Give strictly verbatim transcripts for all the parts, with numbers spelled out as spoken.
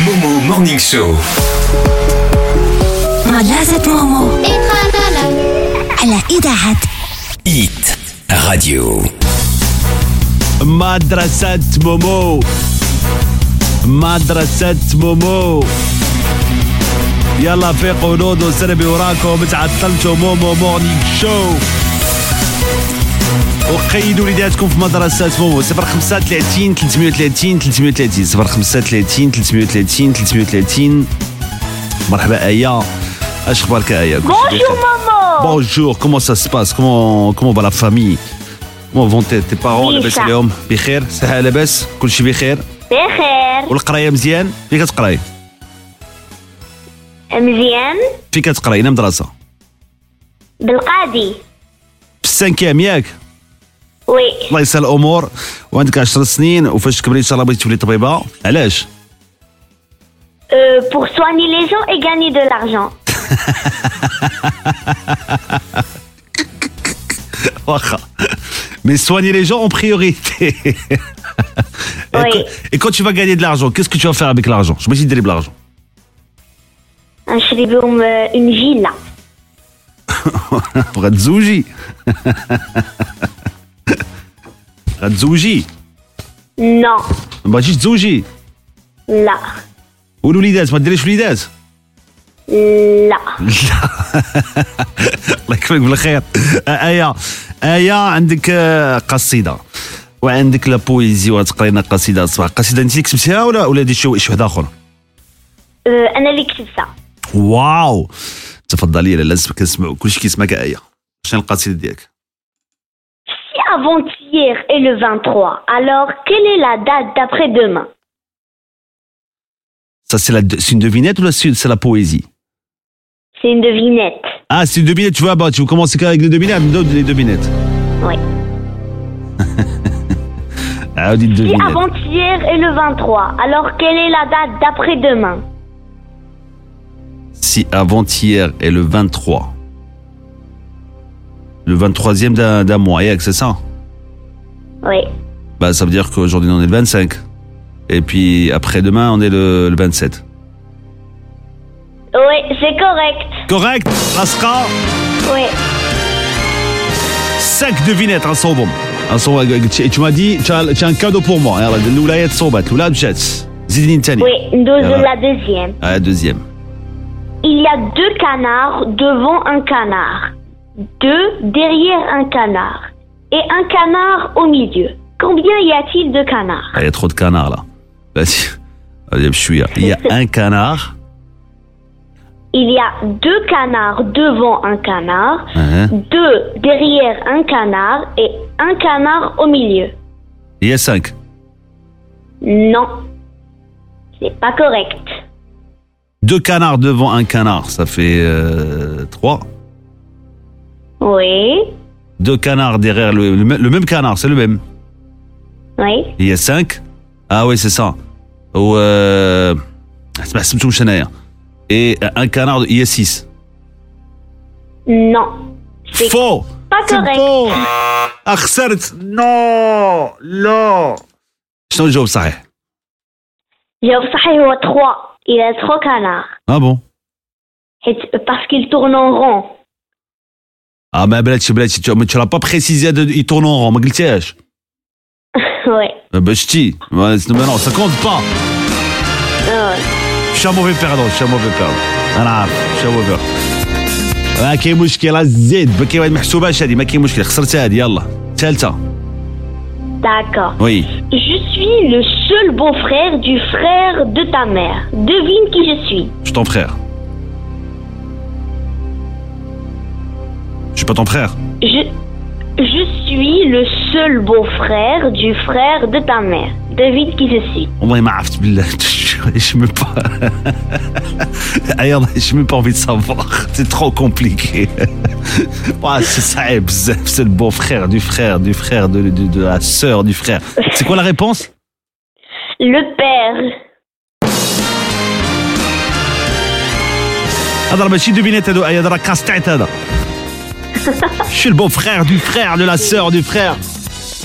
Momo Morning Show. مدرسة مومو على إذاعة إيت راديو. مدرسة مومو مدرسة مومو يلا فيقوا نوضوا سربي وراكم تعطلتوا. مومو مورنينغ شو وقيدوا وليداتكم في مدرسة مومو. صفر خمسة ثلاثين ثلاثمية وثلاثين ثلاثمية وثلاثين صفر خمسة ثلاثين ثلاثمية وثلاثين ثلاثمية وثلاثين. مرحبا آية، اش اخبارك آية؟ Bonjour maman. Bonjour, comment ça se passe? Comment comment va la famille? Comment vont tes, tes parents؟ لاباس عليهم؟ بخير؟ صحة لاباس؟ كلشي بخير؟ بخير. والقراية مزيان؟ فين كتقراي؟ مزيان. فين كتقراي؟ أين مدرسة؟ بالقاضي. في السانكيام ياك؟ وي. الله يسهل الأمور. وعندك عشر سنين وفاش تكبري إن شاء الله بغيتي تولي طبيبة، علاش؟ Euh, pour soigner les gens et gagner de l'argent. واخا. Mais soigner les gens en priorité. Oui. Et quand tu vas gagner de l'argent, qu'est-ce que tu vas faire avec l'argent? Je me dis de l'argent. نشري بهم une villa. غتزوجي. غتزوجي. Non. ما بغيتيش تزوجي. لا. والوليدات ما ديريش وليدات؟ لا. لا. الله يكفيك بالخير. آية آية عندك قصيدة وعندك لا بويزي وغتقري لنا قصيدة الصباح. قصيدة انت اللي كتبتيها ولا ولا دي شي شي واحد اخر؟ Euh, أنا اللي كتبتها. واو، تفضلي. لازم كنسمعوا كلشي كيسمعك آية. شنو القصيدة ديالك؟ Si avant-hier est le vingt-trois, alors quelle est la date d'après-demain? Ça c'est la c'est une devinette ou c'est c'est la poésie? C'est une devinette. Ah, c'est une devinette. Tu vois, bah, tu veux commencer avec les devinettes, les devinettes. Oui. Ah, dites Si devinette. avant-hier est le vingt-trois, alors quelle est la date d'après-demain? Si avant-hier est le vingt-trois, le vingt-troisième d'un, d'un mois, yeah, c'est ça? Oui. Bah, ça veut dire qu'aujourd'hui on est le vingt-cinq. Et puis après-demain on est le, le vingt-sept. Oui, c'est correct. Correct, Raska. Oui. Cinq devinettes, un صوبهم. Un صوب. Et tu m'as dit, tu as, tu as un cadeau pour moi. يلا الولايات صوبات، الأولى مشات. زيدني تاني. Oui, nous Voilà. la deuxième. Ah, deuxième. Il y a deux canards devant un canard, deux derrière un canard et un canard au milieu. Combien y a-t-il de canards? Ah, il y a trop de canards là. Vas-y. Allez, je suis là. Il y a un canard. Il y a deux canards devant un canard, Hein. deux derrière un canard et un canard au milieu. Il y a cinq. Non, c'est pas correct. Deux canards devant un canard, ça fait euh, trois. Oui, Deux canards derrière le, le, même- le même canard, c'est le même. oui, Il y a cinq. Ah oui, c'est ça. Ou euh, اسمع سمعتو واش انايا. Et un canard, il y a six. non, c'est Faux. pas C'est correct. faux. Ah, خسرت. Non. لا. شنو الجواب صحيح؟ جواب صحيح هو trois. Il a trois canards. Ah bon. حيت- Parce qu'il tourne en rond. Ah mais بلاتي بلاتي tu tu l'as pas précisé de il tourne en rond ما قلتيهاش. Oui. Ben ch'ti. Ouais, c'est- mais non, ça compte pas. Euh, Je suis un mauvais perdant, je suis un mauvais perdant. انا عارف je suis un mauvais perdant. ما كاين مشكل الزيد ما كاين ما محسوباش هذه ما كاين مشكل خسرت هذه يلا. ثالثة. D'accord. Oui. Je suis le seul beau-frère du frère de ta mère. Devine qui je suis. Je suis ton frère. Je suis pas ton frère. Je, je suis le seul beau-frère du frère de ta mère. Devine qui je suis. والله ما عرفت بالله. Je sais même pas. Ah, yallah, j'ai même pas envie de savoir. C'est trop compliqué. Ouais, c'est ça, bzaf, c'est le beau-frère du frère, du frère, de, de, de la sœur du frère. C'est quoi la réponse? Le père. هذا ماشي دوبينيت هذا هذا راه كاس تاعت هذا. Je suis le beau-frère du frère de la sœur du frère.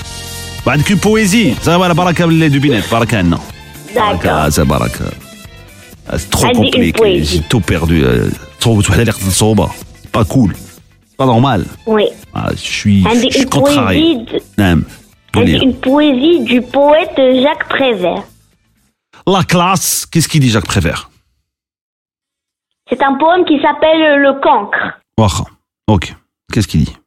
وعندك une poésie. Ça va la baraka باللي دوبينيت. baraka عندنا. D'accord. baraka, c'est baraka. Ah, c'est trop عندي une compliqué. poésie. J'ai tout perdu. صوبت وحده اللي قتلت صوبه. C'est pas cool. C'est pas normal. Oui. Ah, je suis, je عندي suis une contrarié. poésie, de- نعم. عندي قولي. une poésie du poète Jacques Prévert. La classe. Qu'est-ce qu'il dit Jacques Prévert? C'est un poème qui s'appelle Le Cancre. واخا. Ok. Qu'est-ce qu'il dit?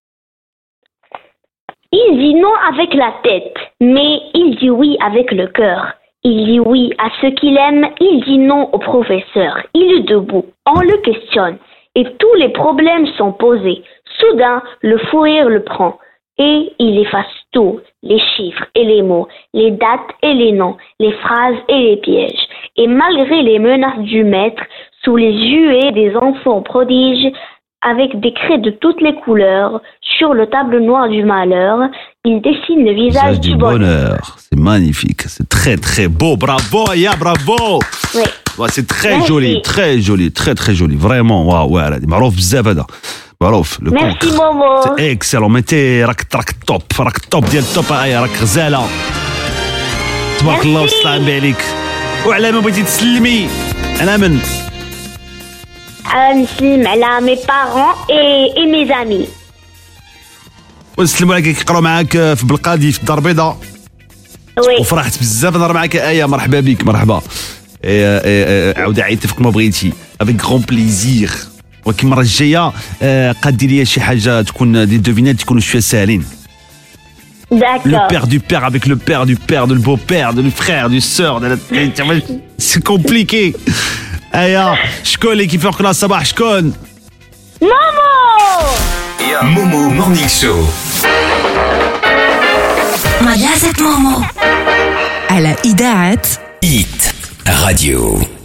Il dit non avec la tête, mais il dit oui avec le cœur. Il dit oui à ceux qu'il aime, il dit non au professeur. Il est debout, on le questionne, et tous les problèmes sont posés. Soudain, le fou rire le prend, et il efface tout, les chiffres et les mots, les dates et les noms, les phrases et les pièges. Et malgré les menaces du maître, sous les huées des enfants prodiges, avec des craies de toutes les couleurs, sur le tableau noir du malheur, il dessine le visage Visage du du bonheur. bonheur. C'est magnifique. C'est très très beau. Bravo, Aya, bravo. Oui. Ouais, c'est très Merci. joli, très joli, très très joli. Vraiment, waouh, ouais, هذه معروف بزاف هذا. معروف. Le Merci cancre. Momo. C'est excellent. متي راك راك توب، راك توب ديال التوب. ايا راك غزاله. تبارك الله Merci. وسلام عليك. وعلى ما بغيتي تسلمي انا من Euh, نسلم على mes parents et, et mes amis. ونسلموا عليك كيقراو معاك في بلقادي في الدار البيضاء. Oui. وفرحت بزاف نهضر معاك ايا. مرحبا بك مرحبا. إيه، إيه، إيه، عاود عيطي فيك ما بغيتي افيك غون بليزير. ولكن المره الجايه آه، قادي لي شي حاجه تكون دي دوفينات يكونوا شويه ساهلين. Le D'accord. père du père avec le père du père, de le beau-père, de le frère, du sœur, de la... c'est compliqué. Aya, شكون اللي كيفيق لها الصباح شكون؟ Momo. Momo Morning Show. مجازة مومو على إذاعة Hit Radio.